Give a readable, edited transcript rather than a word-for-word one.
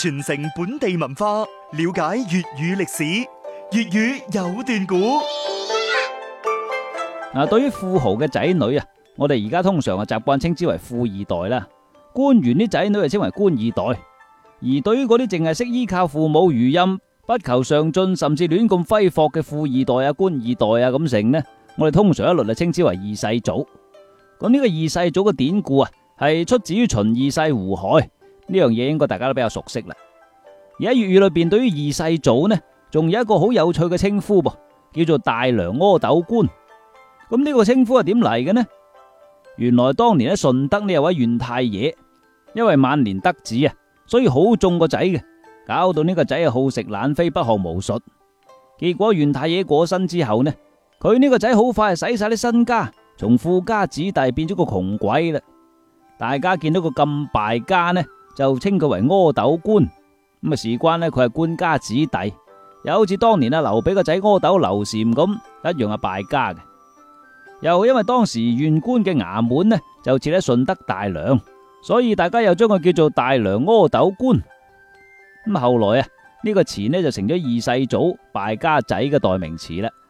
傳承本地文化，了解粵語歷史。粵語有段古。 對於富豪嘅仔女啊，我哋而家通常習慣稱之為富二代啦。官員啲仔女就稱為官二代。而對於嗰啲淨係識依靠父母餘蔭，不求上進，甚至亂咁揮霍嘅富二代啊、官二代啊咁成呢，我哋通常一律就稱之為二世祖。咁呢個二世祖嘅典故啊，係出自於秦二世胡亥，呢樣嘢應該大家都比較熟悉啦。而喺粵語裏邊，對於二世祖呢，仲有一個好有趣嘅稱呼噃，叫做大梁阿斗官。咁呢個稱呼係點嚟嘅呢？原來當年喺順德呢有位縣太爺，因為晚年得子啊，所以好縱個仔嘅，搞到呢個仔啊好食懶飛，不學無術。結果縣太爺過身之後呢，佢呢個仔好快就使晒啲身家，從富家子弟變咗個窮鬼啦。大家見到個咁敗家呢，就稱佢為阿斗官。咁啊，事關呢，佢係官家子弟，又好似當年劉備個仔阿斗劉禪咁，一樣係敗家嘅。又因為當時縣官嘅衙門呢就設喺順德大梁，所以大家又將佢叫做大梁阿斗官。咁後來啊，呢個詞呢就成咗二世祖敗家仔嘅代名詞啦。